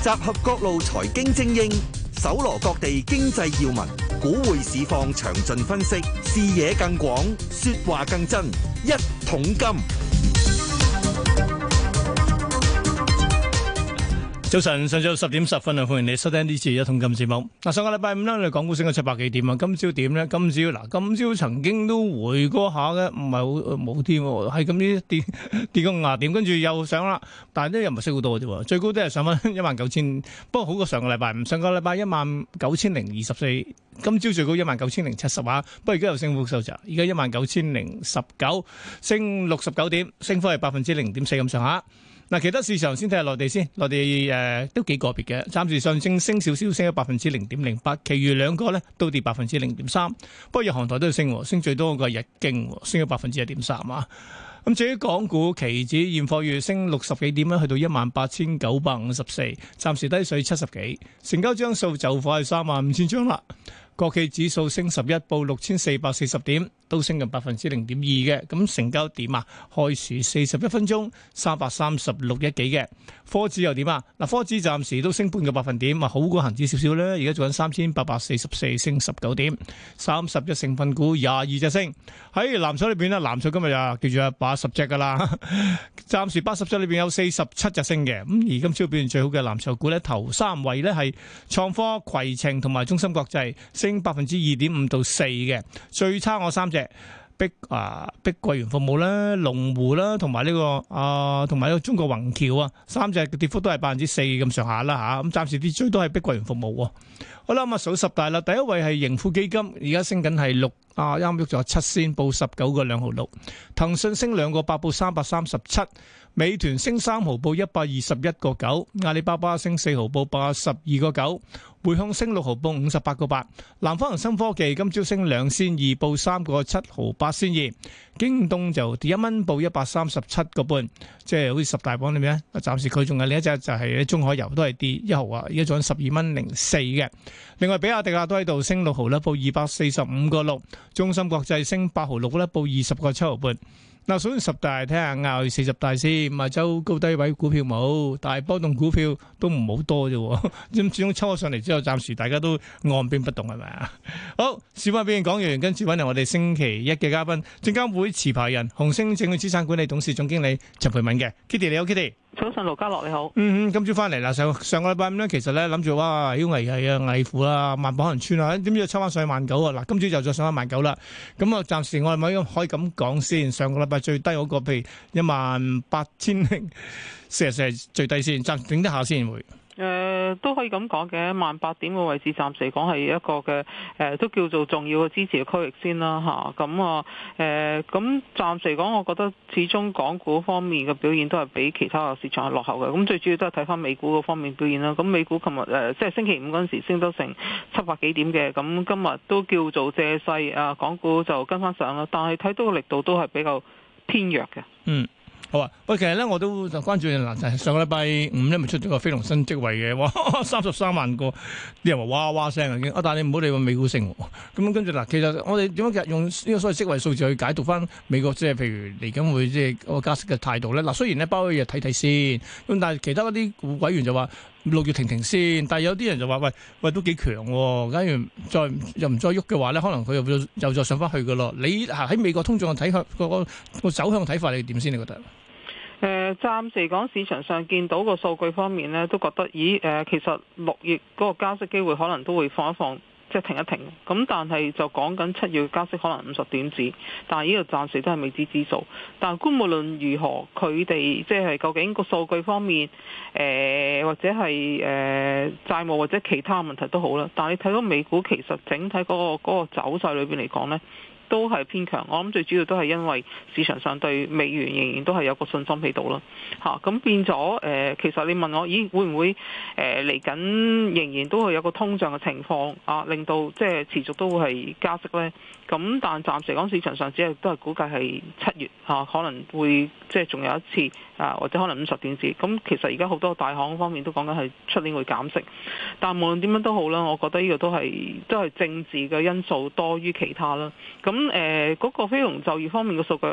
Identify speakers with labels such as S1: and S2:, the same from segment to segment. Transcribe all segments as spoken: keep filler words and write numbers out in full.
S1: 集合各路財經精英，搜羅各地經濟要聞，股匯市況詳盡分析，視野更廣，說話更真。一桶金。
S2: 早晨，上晝十點十分啊，歡迎你收聽呢次一桶金節目。嗱，上個禮拜五咧，我哋港股升咗七百幾點啊。今朝點咧？今朝嗱，今朝曾經都回過下嘅，唔係好冇添，係咁啲跌跌個廿點，跟住又上啦。但係咧又唔係升好多嘅啫，最高都係上翻一萬九千，不過好過上個禮拜五。上個禮拜一萬九千零二十四，今朝最高一萬九千零七十啊。不過而家又升幅收窄，而家一萬九千零十九，升六十九點，升幅係百分之零點四咁上下。嗱，其他市場先睇下內地先，內地誒、呃、都幾個別嘅，暫時上證升少少，升咗百分之零點零八，其餘兩個咧都跌百分之零點三。不過日韓台都要升，升最多個係日經，升咗百分之一點三啊。咁至於港股期指現貨月升六十幾點咧，去到一萬八千九百五十四，暫時低水七十幾，成交張數就快三萬五千張啦。國企指數升十一，報六千四百四十點，都升近百分之零點二嘅。咁成交點啊，開市四十一分鐘三百三十六億幾嘅。科指又點啊？嗱，科指暫時都升半個百分點，啊好過恒指少少咧。而家做緊三千八百四十四，升十九點，三十隻成分股廿二隻升。喺藍籌裏邊咧，藍籌今日啊叫做八十隻噶啦，暫時八十隻裏邊有四十七隻升嘅。咁而今朝表現最好嘅藍籌股咧，頭三位咧係創科、攜程同埋中芯國際，升百分之二點五到四嘅。最差我三隻。碧啊，碧桂園服務啦、龍湖啦，同埋呢個啊，同埋呢個中國宏橋啊，三隻嘅跌幅都係百分之四咁上下啦吓。咁暫時跌最多係碧桂園服務。好啦，咁啊數十大啦，第一位係盈富基金，而家升緊係六啊，啱喐咗七仙，報十九個兩毫六。騰訊升兩個八，報三百三十七。美團升三毫，報一百二十一個九。阿里巴巴升四毫，報八十二個九。匯控升六毫，報五十八個八。南方恒生科技今朝升兩仙二，報三個七毫八仙二。京東就跌一蚊，報一百三十七個半。即係好似十大榜裏面咧，暫時佢仲有另一隻就係中海油都係跌一毫啊，而家仲十二蚊零四嘅。另外比亞迪啊都喺度升六毫啦，報二百四十五個六。中芯國際升八毫六啦，報二十個七毫半。嗱，數完十大，睇下亞四十大先。亞洲高低位股票冇，但係波動股票都唔好多啫。咁始終抽咗上嚟之後，暫時大家都按兵不動係咪啊？好，小巴表現講完，跟住揾嚟我哋星期一嘅嘉賓，證監會持牌人、紅星證券資產管理董事總經理陳蓓敏嘅 Kitty，你好 Kitty。
S3: 早晨，盧家樂你好。
S2: 嗯嗯，今朝翻嚟啦，上上個禮拜五咧，其實咧諗住哇，好危係啊，危乎啦，萬寶可能穿啊，點知抽翻上去萬九啊？嗱，今朝就再上翻萬九啦。咁啊，暫時我係咪可以咁講先？上個禮拜最低嗰個，譬如一萬八千零四十四係最低先，暫頂得下先會。
S3: 誒、呃、都可以咁講嘅，萬八點嘅位置暫時嚟講係一個嘅誒、呃，都叫做重要嘅支持嘅區域先啦嚇。咁啊誒，咁暫時嚟講，我覺得始終港股方面嘅表現都係比其他嘅市場係落後嘅。咁最主要都係睇翻美股嗰方面表現啦。咁美股琴日誒即係星期五嗰陣時升得成七百幾點嘅，咁今日都叫做借勢啊，港股就跟翻上啦。但係睇到個力度都係比較偏弱嘅。
S2: 嗯。好啊！喂，其實咧我都就關注嗱，就係上個禮拜五咧，咪出咗個非農新職位嘅，哇，三十三萬個，啲人話哇哇聲啊已經。啊，但係你唔好理個美股升，咁跟住嗱，其實我哋點樣用呢個所謂職位數字去解讀翻美國，即係譬如嚟緊會即係個加息嘅態度咧。嗱，雖然咧包可以睇睇先，咁但係其他嗰啲委員就話六月停停先，但係有啲人就話喂喂都幾強喎，假如再又唔再喐嘅話咧，可能佢又會又再上翻去噶咯。你喺美國通脹嘅睇法個個走向睇法，你點先？你覺得？
S3: 誒、呃，暫時嚟講，市場上見到個數據方面呢，都覺得，咦，誒、呃，其實六月嗰個加息機會可能都會放一放，即係停一停。咁但係就講緊七月加息可能五十點子，但係呢個暫時都係未知之數。但係無論如何，佢哋即係究竟個數據方面，誒、呃、或者係誒、呃、債務或者其他問題都好啦。但係你睇到美股其實整體嗰、嗰個嗰個走勢裏邊嚟講呢，都係偏強，我諗最主要都係因為市場上對美元仍然都係有個信心喺度啦，嚇、啊、咁變咗誒、呃，其實你問我，咦會唔會誒嚟緊仍然都會有個通脹嘅情況啊，令到即係持續都會係加息咧？咁但暫時講市場上只係都係估計係七月嚇、啊、可能會即係仲有一次啊，或者可能五十點子。咁其實而家好多大行方面都講緊係出年會減息，但無論點樣都好啦，我覺得呢個都係都係政治嘅因素多於其他啦。咁誒嗰個非農就業方面嘅數據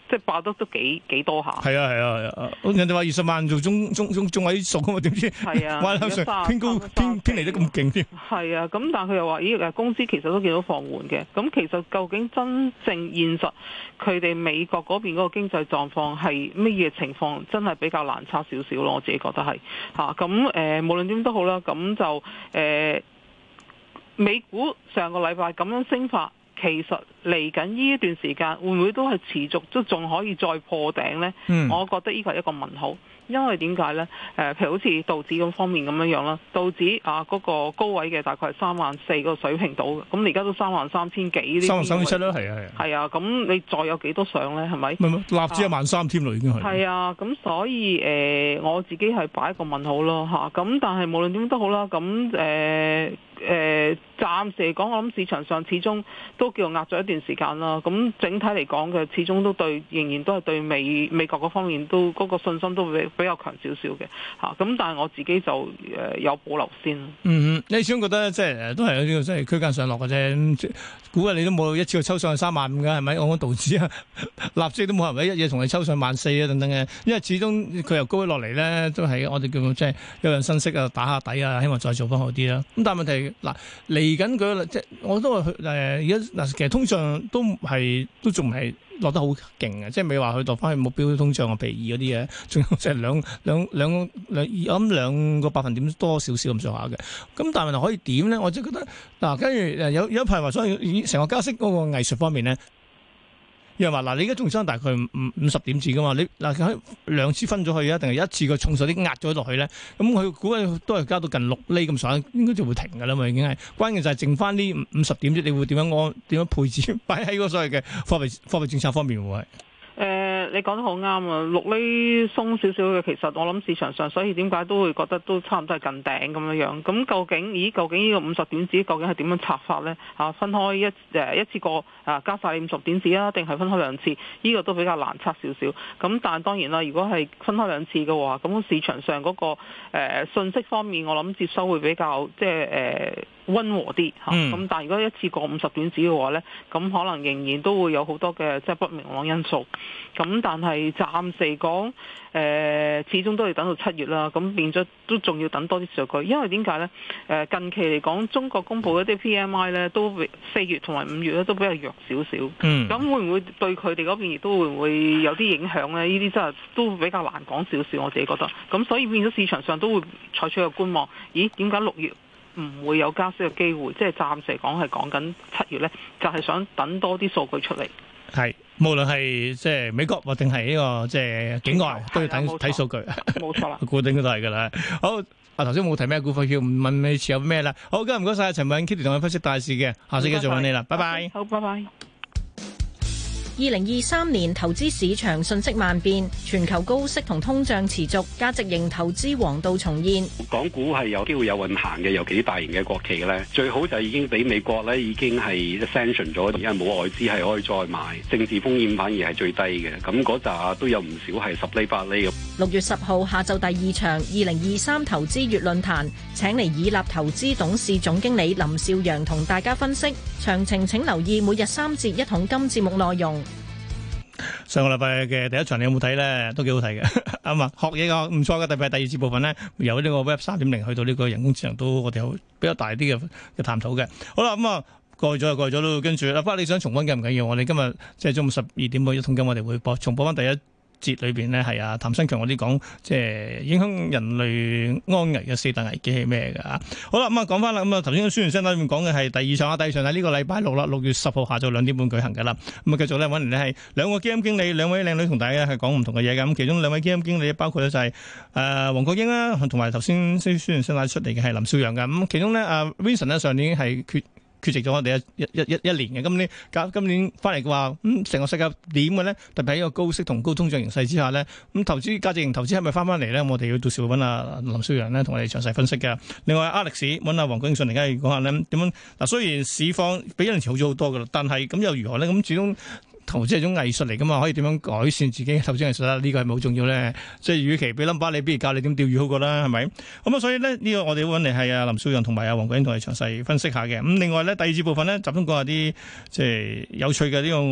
S3: 即係爆得都幾幾多下。
S2: 係啊係啊係啊，人哋話二十萬做中中中中位數啊嘛，點知
S3: 係啊，
S2: 哇上偏高偏偏離得咁勁添。
S3: 係啊，咁但係佢又話咦誒工資其實都見到放緩嘅，咁其實究竟真正現實佢哋美國嗰邊嗰個經濟狀況係乜嘢情況，真係比較難測少少咯，我自己覺得係嚇。咁、啊、誒、呃、無論點都好啦，咁就誒、呃、美股上個禮拜咁樣升法。其實嚟緊呢一段時間會唔會都係持續都仲可以再破頂呢？嗯、我覺得呢個係一個問號，因為點解呢？誒、呃，譬如好似道指咁方面咁樣樣啦，道指啊嗰、那個高位嘅大概係三萬四個水平度嘅，咁你而家都三萬三千幾呢啲，三萬三千七啦，係啊係啊，係啊，咁你再有幾多上呢？係咪？唔係
S2: 納指一萬三添咯，已經係。
S3: 係啊，咁所以誒、呃，我自己係擺一個問號咯嚇，咁但係無論點都好啦，咁誒。誒，暫時嚟講，我諗市場上始終都叫壓咗一段時間啦。咁整體嚟講嘅，始終都對，仍然都係對美美國嗰方面都嗰、嗰個信心都比比較強少少嘅嚇。咁但係我自己就誒有保留先。
S2: 嗯，你始終覺得即係都係有呢個即係區間上落嘅啫。估計你都冇一次過抽上去三萬五嘅係咪？我講道指啊，納指都冇人一嘢同你抽上萬四啊等等嘅。因為始終佢由高位落嚟咧，都係我哋叫即係有人分析啊，打下底啊，希望再做翻好啲啦。咁但係問題。嗱，嚟緊佢即係我都話誒而家嗱，其實通脹都係都仲係落得好勁嘅，即係未話去到翻去目標通脹嘅比二嗰啲嘢，仲有即係兩兩兩兩我諗兩個百分點多少少咁上下嘅。咁但係問題可以點咧？我就覺得嗱，跟住誒有有一排話，所以成個加息嗰個藝術方面咧。又話嗱，你而家仲爭大概五五十點子噶嘛？你嗱佢兩次分咗去啊，定係一次個重手啲壓咗落去咧？咁佢估計都係加到近六厘咁上下，應該就會停噶啦嘛，已經係。關鍵就係剩翻呢五十點子，你會點樣安點樣配置擺喺嗰所謂嘅貨幣貨幣政策方面會係？
S3: 誒、呃，你講得好啱啊！六厘鬆少少嘅，其實我諗市場上，所以點解都會覺得都差唔多係近頂咁樣樣。咁究竟，咦？究竟呢個五十點子究竟係點樣拆法呢？啊，分開一誒一次過啊加晒五十點子啊，定係分開兩次？呢、這個都比較難測少少。咁但係當然啦，如果係分開兩次嘅話，咁市場上嗰、那個誒、呃、信息方面，我諗接收會比較即係誒溫和啲嚇。咁、嗯、但係如果一次過五十點子嘅話呢，咁可能仍然都會有好多嘅即係不明朗因素。咁但係暫時講，誒、呃、始終都要等到七月啦。咁變咗都仲要等多啲數據，因為點解呢？誒近期嚟講，中國公佈一啲 P M I 咧，都四月同埋五月咧都比較弱少少。嗯。咁會唔會對佢哋嗰邊亦都會唔會有啲影響呢？呢啲真係都比較難講少少，我自己覺得。咁所以變咗市場上都會採取個觀望。咦？點解六月唔會有加息嘅機會？即係暫時嚟講係講緊七月呢，就係、是、想等多啲數據出嚟。係。
S2: 無論係即係美國或定係呢個即係境外，都要睇睇數據。
S3: 冇錯啦，
S2: 固定都係噶啦。好，啊頭先冇提咩股份，要問你持有咩啦？好，今日唔該晒陳偉殷 Kitty 同我分析大市嘅，下次繼續揾你啦，拜拜。
S3: 好，拜拜。
S4: 二零二三年投資市場瞬息萬變，全球高息同通脹持續，價值型投資黃道重現。
S5: 港股係有機會有運行嘅，尤其啲大型嘅國企咧，最好就已經俾美國咧已經係 sanction 咗，而家冇外資係可以再買，政治風險反而係最低嘅。咁嗰扎都有唔少係十厘八厘咁。
S4: 六月十號下晝第二場二零二三投資月論壇，請嚟以立投資董事總經理林少陽同大家分析。詳情請留意每日三節一桶金節目內容。
S2: 上個禮拜嘅第一場你有冇睇咧？都幾好睇嘅，啱啊！學嘢個唔錯嘅，特別係第二節部分咧，由呢個 Web 三點零去到呢個人工智能，都我哋有比較大啲嘅嘅探討嘅。好啦，咁、嗯、啊過咗就過咗咯，跟住啦，不過你想重溫緊唔緊要？我哋今日即係中午十二點半一桶金，我哋會播重播翻第一節裏邊呢係啊譚新強嗰啲講，即係影響人類安危嘅四大危機係咩㗎？好啦，咁啊講翻啦，咁啊頭先宣傳聲帶裏面講嘅係第二場啊，第二場喺呢個禮拜六啦，六月十號下晝兩點半舉行㗎啦。咁啊繼續咧揾嚟呢係兩個基金經理，兩位靚女同大家係講唔同嘅嘢㗎。咁其中兩位基金經理包括咧就係誒黃國英啦，同埋頭先宣傳聲帶出嚟嘅係林少陽㗎。咁其中咧啊 Vincent 呢上年係缺。缺席咗我哋一一一一年嘅，今年今今年翻嚟嘅話，咁、嗯、成個世界點嘅咧？特別喺一個高息同高通脹形勢之下咧，咁、嗯、投資價值型投資係咪翻翻嚟咧？我哋要到時會揾阿林少陽咧同我哋詳細分析嘅。另外 Alex 揾阿黃國英上嚟，而家要講下咧點樣嗱。雖然市況比一年前好咗好多噶啦，但係咁又如何咧？咁始終投資係種藝術嚟噶嘛，可以點樣改善自己投資藝術啦？呢、這個係咪好重要咧？即係與其俾 number 你，不如教你點釣魚好過啦，係咪？咁啊，所以咧呢、這個我哋會揾嚟係阿林少陽同埋阿黃國英同我哋詳細分析下嘅。咁另外咧第二節部分咧集中講下啲即係有趣嘅呢、這個。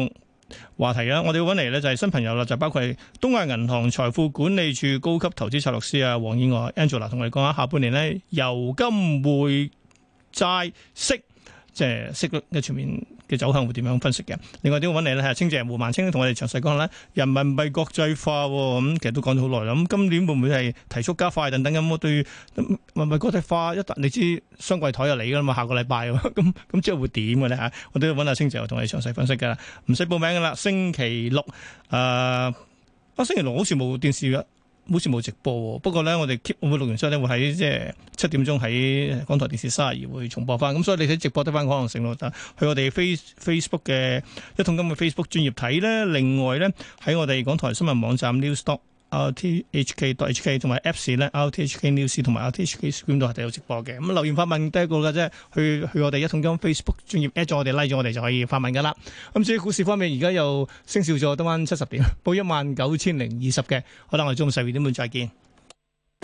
S2: 話題啊！我哋要揾嚟咧就係新朋友啦，就包括係東亞銀行財富管理處高級投資策略師啊，黃燕娥 Angela 同我哋講下下半年咧油金匯債息，即係息率嘅全面嘅走向會點樣分析嘅？另外點揾嚟咧係清姐胡孟青同我哋詳細講下咧人民幣國際化咁，其實都講咗好耐啦。咁今年會唔會係提速加快等等咁？我對人民幣國際化一旦你知雙櫃台就嚟㗎啦嘛，下個禮拜咁咁之後會點嘅咧嚇？我都要揾阿清姐同我哋詳細分析㗎啦，唔使報名㗎啦。星期六誒啊，星期六好似冇電視㗎。好似冇直播喎，不過咧我哋 keep 會錄完之後咧會喺即係七點鐘喺港台電視三十二會重播翻，咁所以你睇直播得翻可能性咯。但去我哋 face Facebook 嘅一桶金嘅 Facebook 專頁睇咧，另外咧喺我哋港台新聞網站 newsdot r t h k dot h k 同埋 Apps 咧 r t h k news 同埋 r t h k screen 都係有直播嘅。咁留言發問第一個嘅啫，去去我哋一桶金 Facebook 專頁 at 咗我哋 like 咗我哋就可以發問噶啦。咁至於股市方面，而家又升少咗，得翻七十點，報一萬九千零二十嘅。好啦，我哋中午十二點半再見。